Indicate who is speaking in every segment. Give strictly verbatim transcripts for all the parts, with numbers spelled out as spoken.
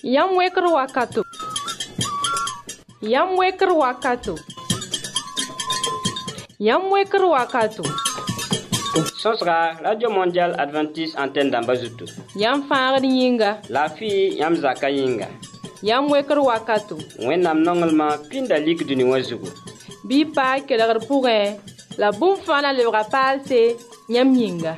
Speaker 1: Yam wekr wakato. Yam wekr wakato. Yam wekr wakato.
Speaker 2: Sosra, Radio Mondiale Adventiste Antenne d'Ambazutu.
Speaker 1: Yam fangr yinga.
Speaker 2: La fille Yam Zaka yinga.
Speaker 1: Yam wekr wakato.
Speaker 2: Wennam nongelma pinda lik duni wazugu.
Speaker 1: Bi pa kelgr pourrin. La boum fana le rapal c'est Yam yinga.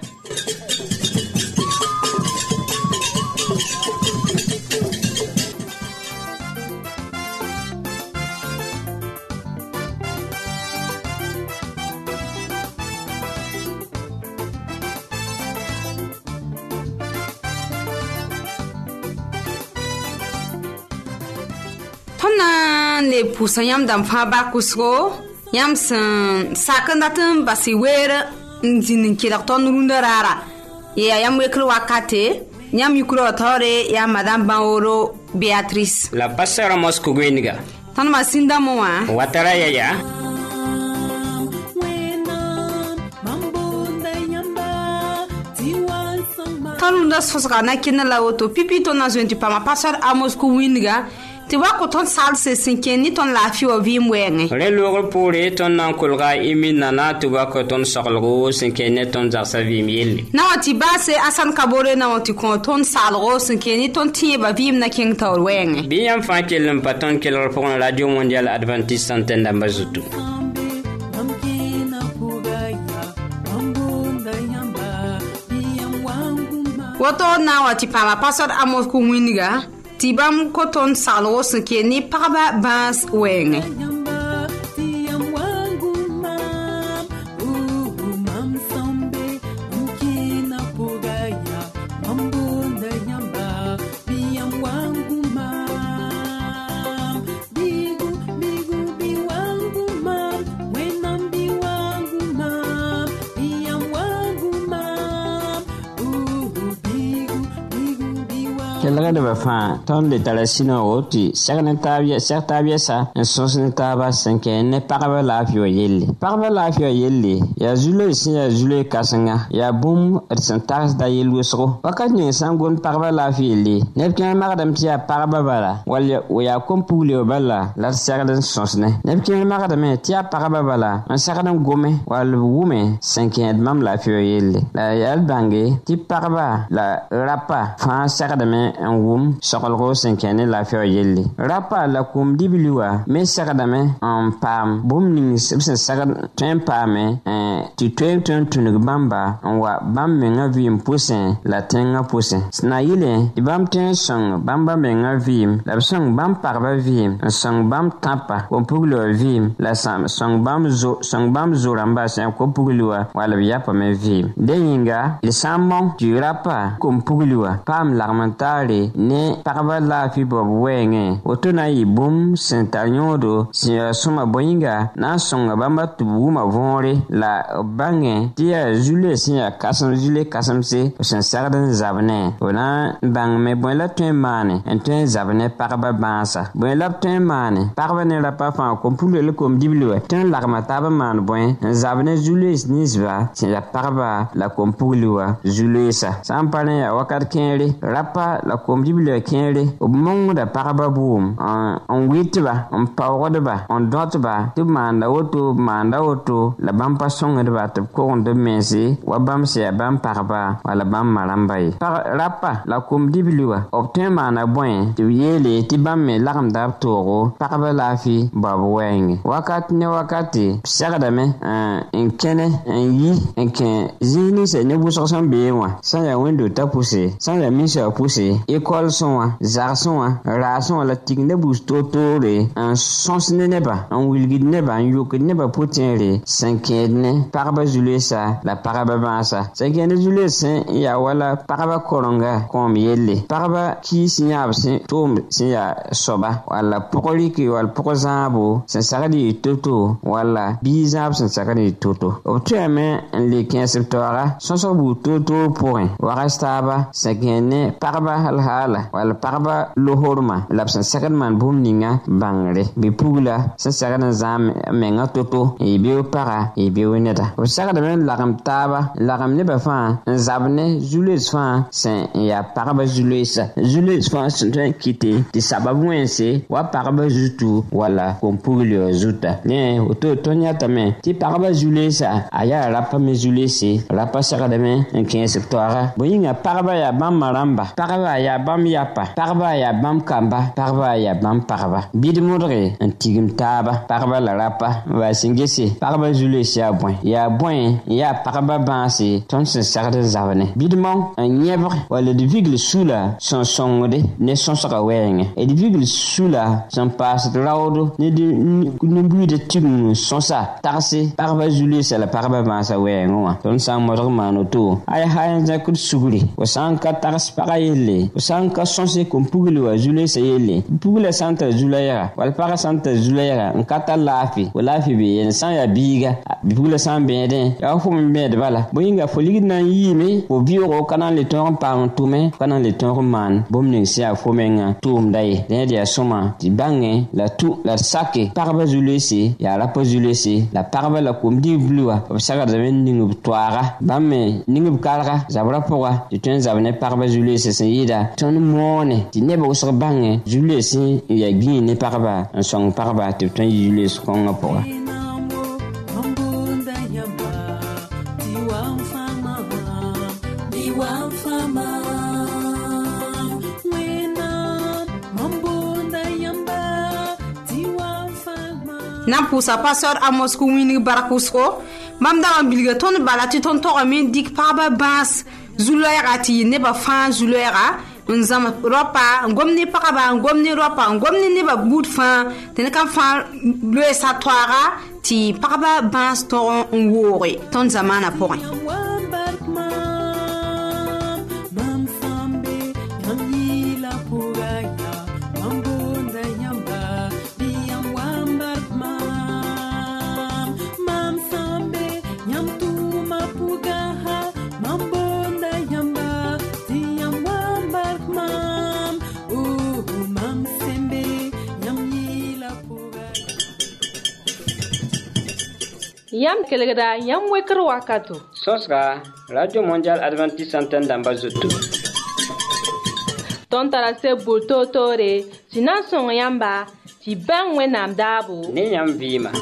Speaker 3: Tona ne pusa yam dam fa ba kusgo yam san sakandatum basiwera nzinin kidak ton runda rara ya yam wekro wakate yam yukro tore ya madame Baoro Beatrice
Speaker 2: la pastora Mosco Gweniga
Speaker 3: tan masinda moa
Speaker 2: watara ya ya
Speaker 3: tanunda sosga na kina la auto pipi ton na zwentu pa ma pastor Amos ko winga ti wa ko ton sal se sinken ni ton la fi o vi mwenge
Speaker 2: re logor pore ton nan kolga imi nana tu wa ko ton saglgo sinken ne ton za sa vi miel
Speaker 3: na wati ba se asan kabore na wati ko ton salgo sinken ni ton ti ba vi na king tor wenge
Speaker 2: bi yam fa kelm paton kelor pour Radio Mondiale Adventiste Antenne d'Ambazutu.
Speaker 3: Woto na wati pa ma pastor Amos ko winga tibam koton salwo sike ni paba bas wenge
Speaker 2: Kelga de bafa ton de talasino oti sagna tabia tabia sa en sosne taba sanke ne paraba la fio yelle paraba la fio yelle ya zulo si ya zulo kasanga ya bum et santas da yelu sro wakat ni sangon paraba la fio yelle ne kan magadam tia paraba bala wal ya kompule bala la sagna sosne ne kan magadam tia paraba bala en sagna gome wal wume sanke mam la fio yelle la yal bange ti paraba la rapa fa sagna en wum sokolgo senkene la fio yelle rapa la kum dibiliwa me sagadame en pam bum ning sebsen sagad ten pame eh ti ten ten tunug bamba en wa bam menga vim pusen la tenga pusen sna yile di bam ten song bamba menga vim la song bam parba vim song bam tapa ko puglo vim la sam song bam zo song bam zo ramba sen ko puglo wala yapa me vim de yinga le samon du rapa kum puglo pam l'armenta ne paraba la fi bob wenge otona yi bum sentanyodo si suma boyinga na songa bamba tubuma vonre la bange tia jule si kasam jule kasamse sen sardan zabne ona bang me bon la tuen mane en tuen zabne paraba bansa bon la tuen mane paraba ne la pa fa ko pule le kom diblo tuen larma taba man bon zabne jule nisva si la paraba la kom pulwa jule sa sampane ya wakat kenre rapa la kom dibile kere o mongo da paraba boom on witba on pawrodba on dotba tu manda oto manda oto la bam pasonga de bat ko on de mensi wa bam se bam paraba wala bam marambai par rapa la kom dibilwa obten mana boy tu yele ti bam me larm da toro paraba la fi babu wenge wakat ne wakati sagada me en kene en yi en ken zini se ne bu sosan be wa sa ya window ta pousser sa ya mise a pousser école son zarson rason la tigne bus totore en sens ne neba en wilgid neba en yok neba potenre cinquième paraba julesa la paraba bansa cinquième julesa ya wala paraba koronga kom yelle paraba ki sinya sen tom sinya soba wala pokoli ki wal pokozabo sen sagadi toto wala bizab sen sagadi toto obteme le quinze septembre sonso bu toto point warastaba cinquième paraba hal hala wal parba lohorma labsan sakan man bum ninga bangre bi pugla sa sakan zam menga toto e bi para e bi weneta o sakan men lagam taba lagam ne ba fa zabne jules fa sen ya parba jules jules fa sen kite ti sababu wense wa parba jutu wala kompuglo zuta ne o to tonya tame ti parba jules aya rapa me jules rapa sakan men en quinze septembre boyinga parba ya bam maramba parba ya bam yapa parba ya bam kamba parba ya bam parba bidmodre en tigim taba parba la rapa va singesi parba jules ya bon ya bon ya parba bansi ton se sarde zavane bidmon en nièvre wala de vigle sula son songode ne son saka wenge et de vigle sula son passe de laudo ne de ne bui de tigum son sa tarse parba jules la parba bansa wengo ton sang modre manoto ay hayan zakut suguri o sanka tars parayele o sanka sonse kompugli wa jules yele pugla santa julaya wal para santa julaya en kata lafi o lafi be en san ya biga pugla san beden ya fum be de bala boyinga foligi nan yime o bioro kana le ton pa tume kana le ton man bomning sia fomenga tum dai de dia soma ti bange la tu la sake parba jules ya la po jules la parba la komdi blua o saka de ningu toara bamme ningu kalra zabra poa ti tun zabne parba jules se yida ton mone ti nebo so bange jules ya gi ne parba en song parba ti tun jules konga poa
Speaker 3: na pusa pastor Amos ku wini barakusko mam da bilga ton balati ton to amen dik parba bas zuloya ati ne ba fan zuloya nzama ropa ngomni pakaba ngomni ropa ngomni ne ba bud fan ten kan fan le sa toara ti parba bas to ngore ton zamana point
Speaker 1: Yam kelegda yam wekro wakato
Speaker 2: Sosra Radio Mondial Adventiste Antenne d'Ambazoto
Speaker 1: ton tarase bulto tore sinan son yamba ti ban wenam dabo
Speaker 2: ne yam vima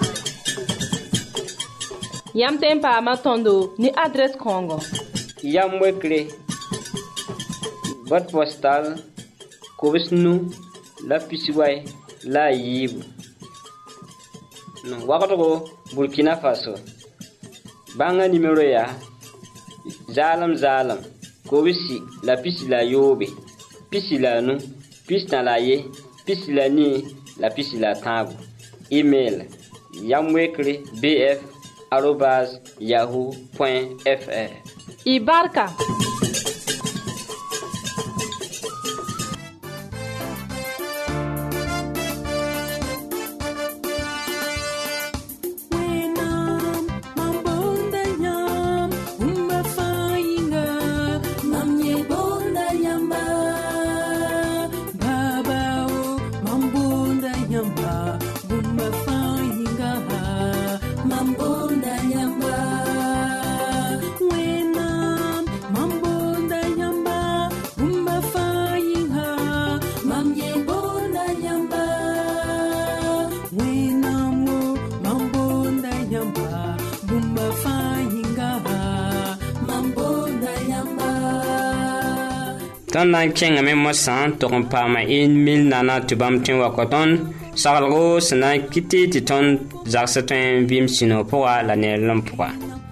Speaker 1: yam tempa matondo ni adresse Congo
Speaker 2: yam wekre boîte postale Kobisnu la Pisiway la Yibu no wakato Burkina Faso banga numéro ya zalam zalam Kobisi la pisi la yobe pisi la nu pisi na la ye pisi la ni la pisi la tango email yamwekre bf arobase yahoo point fr
Speaker 1: Ibarka
Speaker 2: ton nan kenga me mosan to kon pa ma in mil nana to bam tin wa koton salgo sna kiti ti ton zaksatin bim sino poa la ne lompoa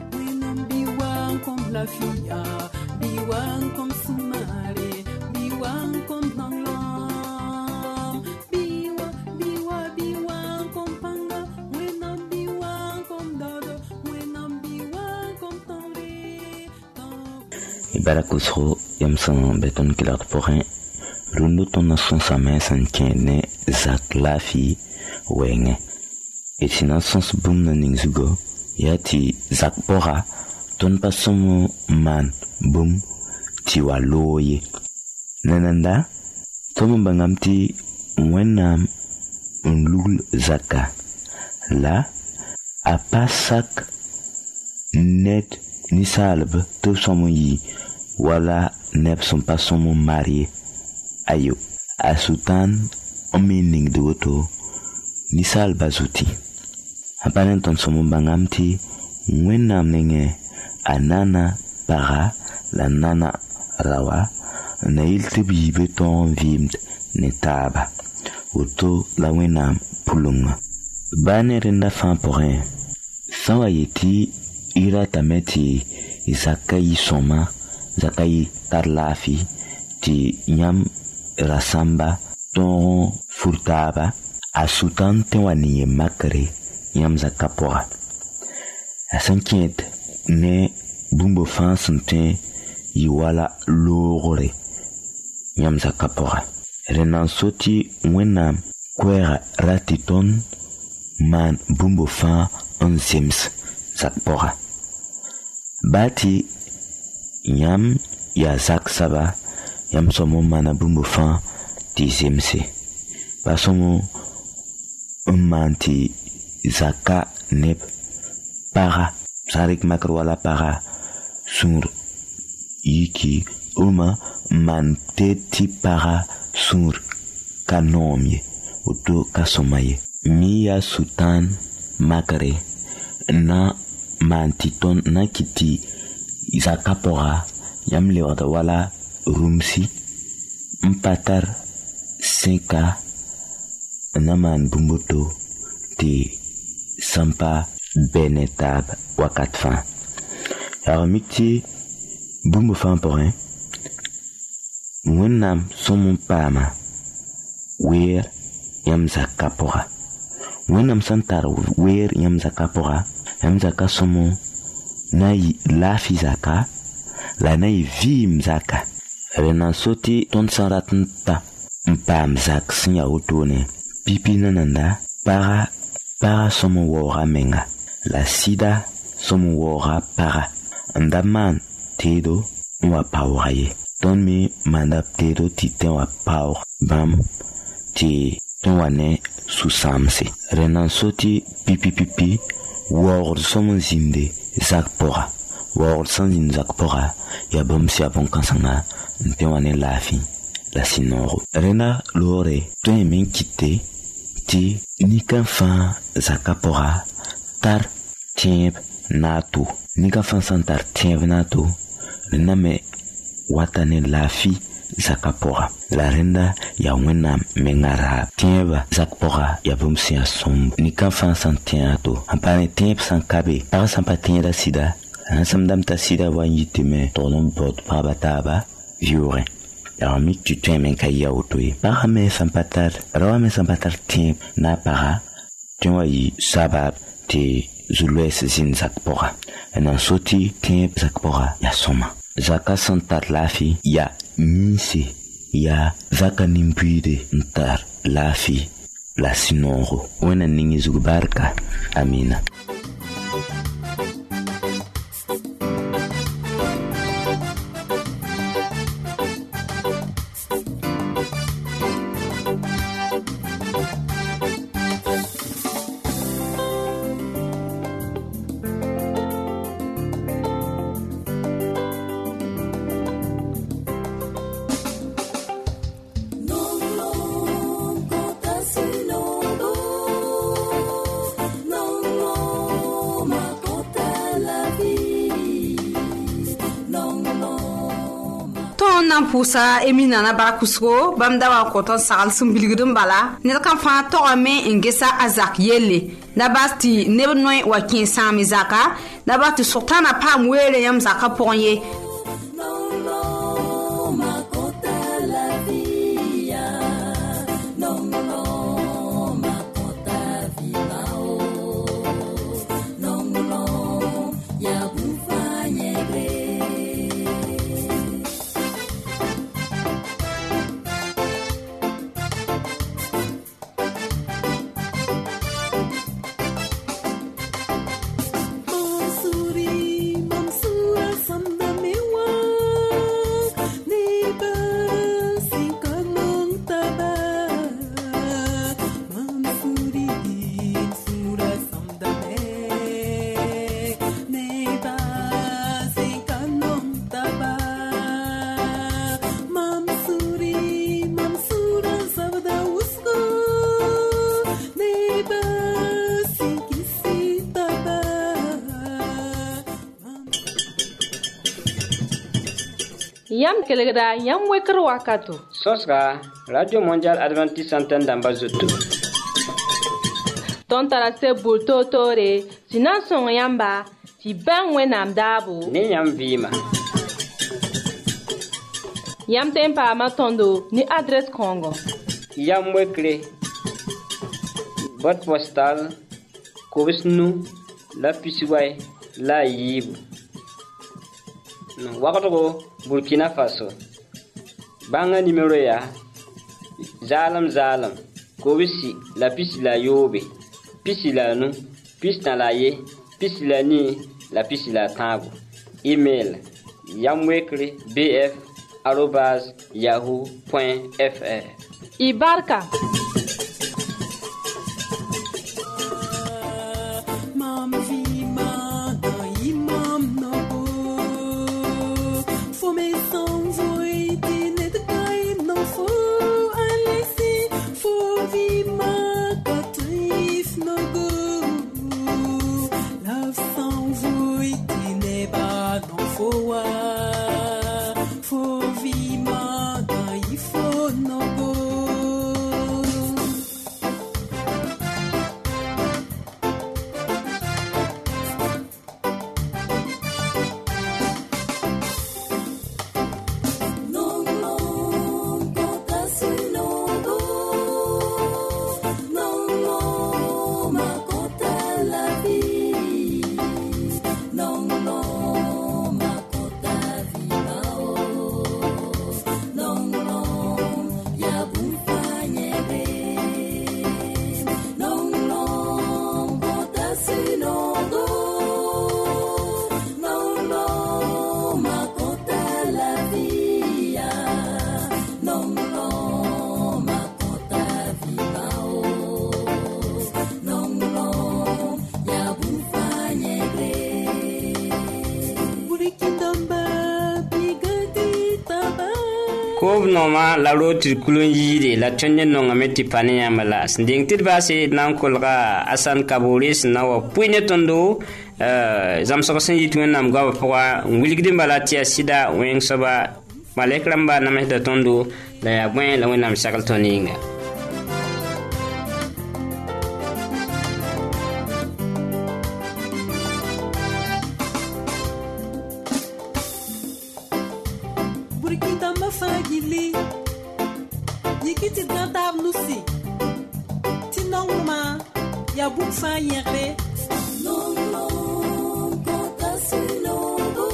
Speaker 4: Barakusro yamsan beton kilat porin rundu ton nason sa main san kene zak lafi wenge et sinon sens boom naning zugo yati zak pora ton pasomo man boom tiwa loye Nananda, Tom Bangamti, Wenam, Unlul Zaka. Là, à Pasak, Net, Nisalb, tout son yi, voilà, neb son pas son marié. Ayo, à Sultan, Omining de Woto, Nisal Bazuti. Apanenton son bangamti, Wenam nenge, Anana, Para, la Nana, Rawa, Nail Tibi Beton Vimd, Netaba, Woto, la Wenam, Pulunga. Bane renda fan pour rien. Sans ayeti, ira tameti, Zakai Soma, Zakai Tarlafi, ti Nyam Rasamba, ton Furtaba, a Sultan Tewani Makare, Nyam Zakapora. A cinquiète, ne Bumbo Fan Santin, Iwala Lorore, Nyam Zakapora. Renan Soti, Wenam, Kwera Ratiton, Man Bumbo Fan Onzims, Zakpora. Bati Yam ya Zak Saba, Yam Somo Mana Bumbo Fan Dizimse. Basomo Manti Zaka Neb Para, Sarik Makrwala Para, Sur Yiki, Uma Man Teti Para, Sur Kanomye, Uto Kasomaye. Mia Sultan Makare na mantiton na kiti Zakapora Yam Lewada wala Rumsi Mpatar Senka Naman Bumboto Ti Sampa Benetab Wakatfan. Yarmiti Bumbo fan porin Mwenam Somon Pama Wer Yam Zakapora. Wenam santar wer yam zaka pora, yam zaka somo, nai lafi zaka, la nai vim zaka. Renan soti ton saratnta, mpam zak sinya utone, pipi nananda, para, para somo wora menga, la sida somo wora para, andaman tedo wa pauraye, ton mi mandap tedo titen wa paur, bam, ti ton wane Susamse. Renan soti pipi pipi, word somon zinde, zakpora. Word sans zinde zakpora, ya bomsi abon kansanga, ntewane lafi, la sinoro. Rena lore, toi men kite, ti nika fan zakapora, tar tiemp nato. Nika fan santar tiemp nato, rena me watane lafi, Zakapora. La renda ya wena mengara tieba zakpora ya bumsi asombo. Nika fan santiato. Ampane tiep sankabe. Para sampatiera sida. Ansamdam ta sida wanyitime. Tolon bot pabataba. Viore. Yarmik tu temen kaya autoe. Para me sampatar. Rawa me sampatar tiep na para. Tenwa yi sabab te zulwes zin zakpora. Enan soti tiep zakpora ya soma. Zaka santar lafi ya Nisi ya Zaka nimpuide ntar lafi la sinoro. Wena ningi zubarka. Amina.
Speaker 3: nan pusa emina na barakusko bamda wa koton sagal sumbilgudum bala ne kan fa to ame ngesa azak yele na basti ne noy wa kin sami zaka na basti sultana pam wele yam zaka ponye
Speaker 5: Mansuri, Mansura, Samdame
Speaker 1: Yam kelgra yam wekr wakato.
Speaker 2: Sosra Radio Mondial Adventiste Antenne d'Ambazoto.
Speaker 1: Ton tarase bulto tore, sinan son yamba, ti ben wenam dabu.
Speaker 2: Ni yam vima.
Speaker 1: Yam tempa matondo ni adresse Congo.
Speaker 2: Yam wekre. Boîte postale. Kobisnu la Pisiway la Yibu. Wakato Burkina Faso. Banga numéro ya Zalam Zalam. Kobisi la Pisi la Yobe. Pisi la Nu. Pisi na la Ye. Pisi la Ni. La Pisi la Tango. Email yamwekre bf arobase yahoo point fr.
Speaker 1: Ibarka.
Speaker 2: Kob noma la roti kulun yire la tonye nonga meti pani yamala sinding tidbasi nan kolga asan kaburis na wa puine tondo euh zamsokosen yitwen nam gwa pwa ngulgdim balatia sida wen soba malekramba na mehda tondo la ya bwen la wenam sakal toninga.
Speaker 5: Yikiti gantab nusi. Tinongma ya bukfa yere. Non non kontasinogo.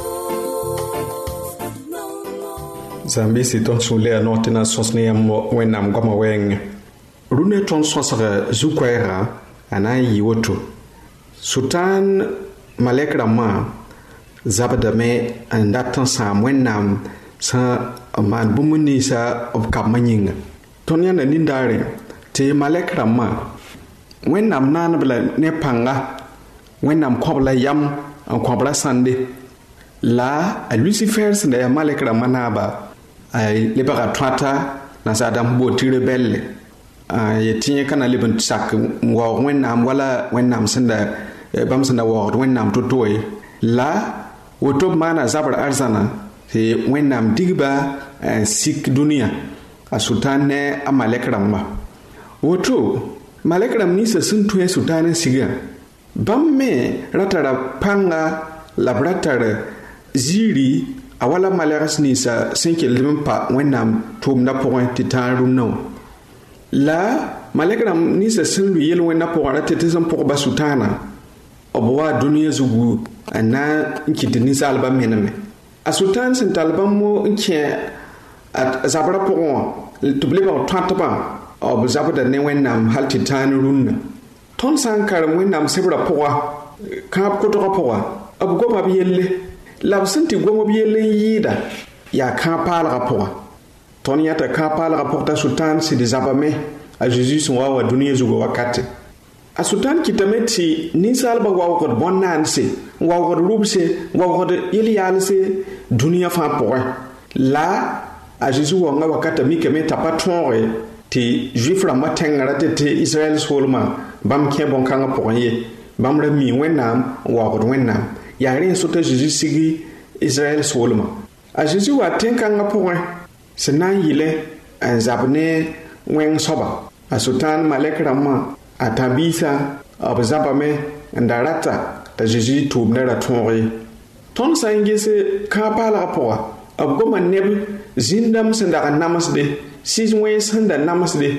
Speaker 5: Non non.
Speaker 6: Zambi si ton sule anotina sosne yam wenam goma weng. Rune ton sosre zukwera anayi woto. Sultan Malek Rama zabadame andatan sam wenam sa man bumuni sa of kamanyinga. Tonya na nindare te Malek Rama wenam nan bla ne panga wenam kobla yam an kobla sande la a Lucifer sende ya Malek Rama naba ay lebara twata na sa adam bo tire belle ay tinye kana liban sak wa wenam wala wenam sende bam sende wa wenam totoy la wotob mana zabar arzana te wenam digba sik dunia a sultan ne a Malek Rama woto Malek Ram ni sa sun tuye sultan siga bam me ratara panga labratara ziri awala maleras ni sa cinque lim pa wenam tum na point titan no la Malek Ram ni sa sun yel wenna po ara tetizam po ba sultana obwa dunia zugu ana nkitini salba mename a sultan sin talbam mo nke at zabra po tubli ba twatba ob zabda ne wenam halti tan runna ton sankar wenam sebra poa kap ko to poa ab go ba yelle lab sinti go mo yelle yida ya ka pala poa ton yata ka pala porta sultan si de zabame a jesus wa wa dunia zugo wakati a sultan kitameti ni salba wa ko bonnanse wa ko rubse wa ko yeli yalse dunia fa poa la a jesus wa nga wakata mi keme tapatore ti juif la matengara te te Israel solma bam ke bon kanga poye bam ra mi wenam wa ko wenam ya ren so te Jesus sigi Israel solma a Jésus wa tenkanga pʋgẽ sẽn na n yɩlɛ n zab ne wẽng soaba a Sʋtãan malɛk rãmbã a tãb-biisã b zabame n da rata t'a Jésus tʋʋm ne ra tõog ye. Tõnd sã n ges kãag paalgã pʋga b goma neb zĩn-dãmb sẽn dag n namsde sɩs-wẽns sẽn da namsde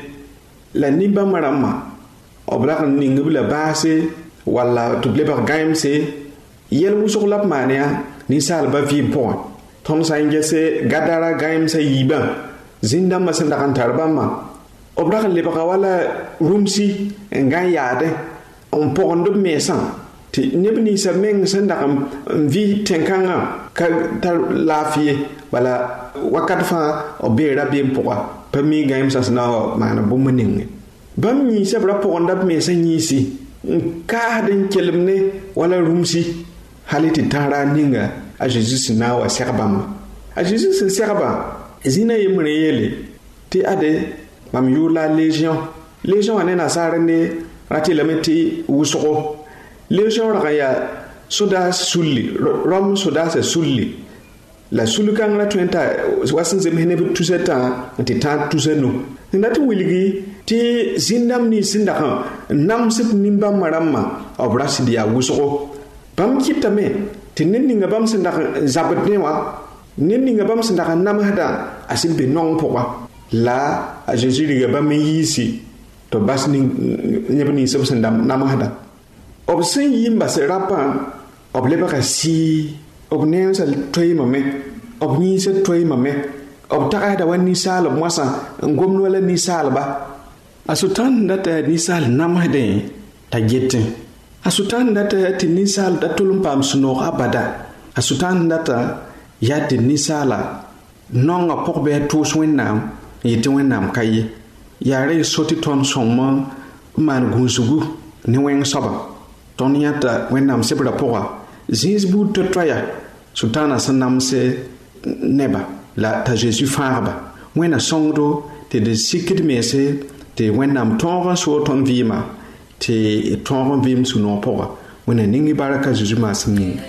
Speaker 6: la nin-bãmb rãmbã b rag n ning-b la baase walla tɩ b lebg gãemse yɛl wʋsg la b maan yaa ninsaalbã vɩɩm pʋgẽ. Tõnd sã n ges Gadara gãemsã yiibã zĩn-dãmbã sẽn dag n tar bãmbã b rag n lebga wala rũmsi n gã n yaadẽ n pʋgend b meesã tɩ neb ninsã meng sẽn dag n vɩ tẽn-kãngã ka tar laafɩ ye bala wakat fãa b beera beem pʋga pa mi gãemsã sẽn na wa maan bũmb ninge. Bãmb yĩnsã b ra pʋgenda b meesã yĩnsi n kaasd n kelem ne wala rũmsi hal tɩ tãara a ninga a Zeezi sẽn na n wa sɛg bãmba. A Zeezi sẽn sɛgba zĩnã yembr n yeele tɩ ade mam yʋʋr la a légion. Légion wã ne nasaar ne ra tɩlame tɩ wʋsgo. Légion rag n yaa sodaas sulli, Rom sodaasã sulli la sul-kãng ra tõe n ta wa sẽn zems neb tusã tã n tɩ tãag tusã nu. Sẽn dat n wilgi tɩ zĩn-dãmb nins sẽn dag n namsd nin-bãmbã rãmbã b ra sɩd yaa wʋsgo. Bãmb kɩtame tɩ ned ninga bãmb sẽn dag n zabd ne wã ned ninga bãmb sẽn dag n namsdã a sẽn be naong pʋga la a Zeezi riga bãmb n yiisi tɩ b bas neb nins b sẽn namsdã. B sẽn yi n bas rapã b lebga sɩɩ b neensã toeemame b yĩnsã toeemame b tagsda wa ninsaalb moasã n gomd wala ninsaalba. A Sʋtãan sẽn data yaa ninsaal namsdẽ t'a getẽ. A Sʋtãan sẽn data yaa tɩ ninsaal da tol n paam sũ-noog abada. A Sʋtãan sẽn data yaa tɩ ninsaala naongã pʋg bɩ a tʋʋs Wẽnnaam n yetɩ Wẽnnaam ka ye. Yaa ra y so tɩ tõnd sõngme n maan gũusgu ne wẽng soaba. Tõnd yãta Wẽnnaam sebrã pʋga zĩis buud to-toaya Sʋtãanã sẽn namse neba la t'a Zeezi fãagba. Wẽnna sõngdo tɩ d sikd meese tɩ Wẽnnaam tõog n soog tõnd vɩɩma tɩ tõog n vɩɩm sũ-noog pʋga. Wẽnna ning-y barka Zeezi maasem ninga.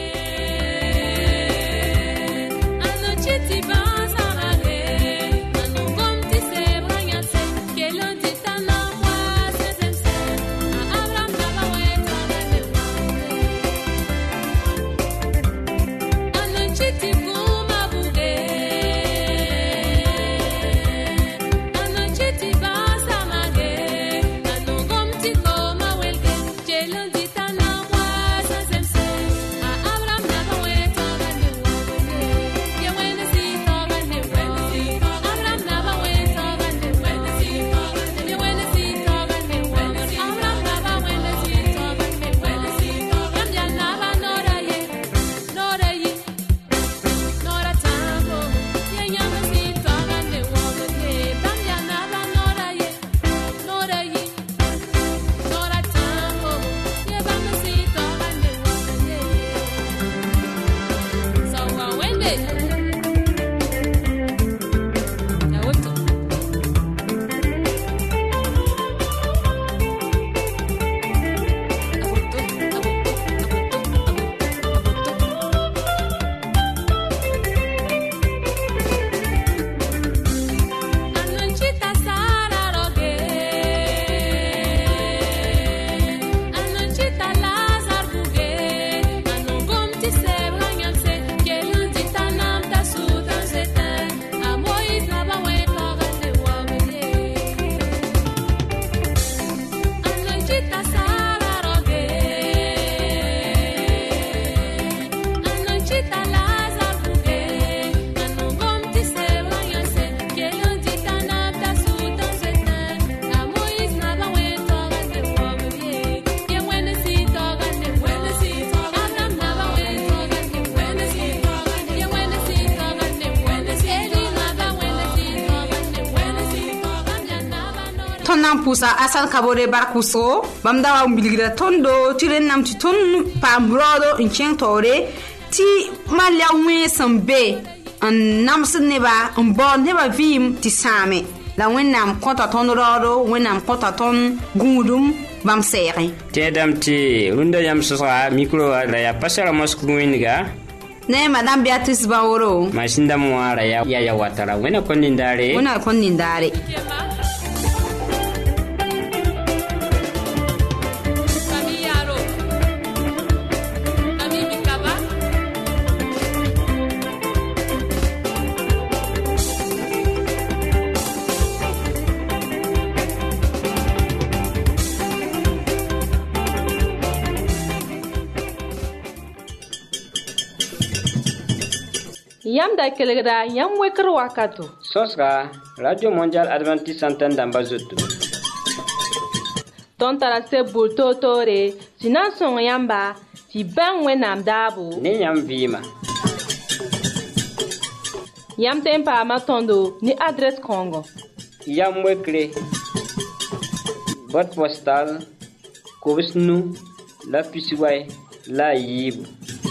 Speaker 3: tõnd na n pʋʋsa asal kabore bark wʋsgo bãmb da wa n bilgra tõndo tɩ rẽnnaam tɩ tõnd paam raoodo n kẽng taoore tɩ malɛg wẽes n be n namsd neba n baood neba vɩɩm tɩ sãame la wẽnnaam kõta tõnd raoodo wẽnnaam kõta tõnd gũudum bãmb sɛɛgẽ
Speaker 2: tẽedame tɩ rũndã yãmb sõsga mikro la yaa pa sara mosk wẽndga
Speaker 3: Ne Madame Beatrice Baoro.
Speaker 2: Mashinda Mwara ya ya watara. Wena kondindare.
Speaker 3: Wena kondindare.
Speaker 1: Yam da kelegra yam wekr wakato.
Speaker 2: Sosra Radio Mondial Adventiste Antenne d'Ambazoto.
Speaker 1: Ton tarase bulto tore, sinan son yamba, ti ben wenam dabo.
Speaker 2: Ni yam vima.
Speaker 1: Yam tempa matondo ni adresse Congo.
Speaker 2: Yam wekre. Boîte postale Kovisnu la Pisiway la Yib.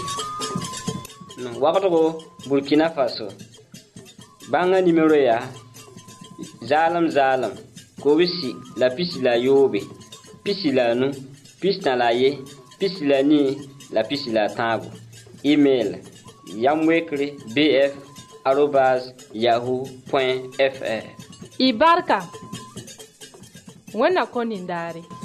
Speaker 2: Wakato Burkina Faso. Banga numéro ya Zalam Zalam Kovisi la pisi la Yobe Pisi la nu Pisi na la ye Pisi la ni la pisi la tango. Email yamwekre bf arobase yahoo point fr.
Speaker 1: Ibarka Wena konindare.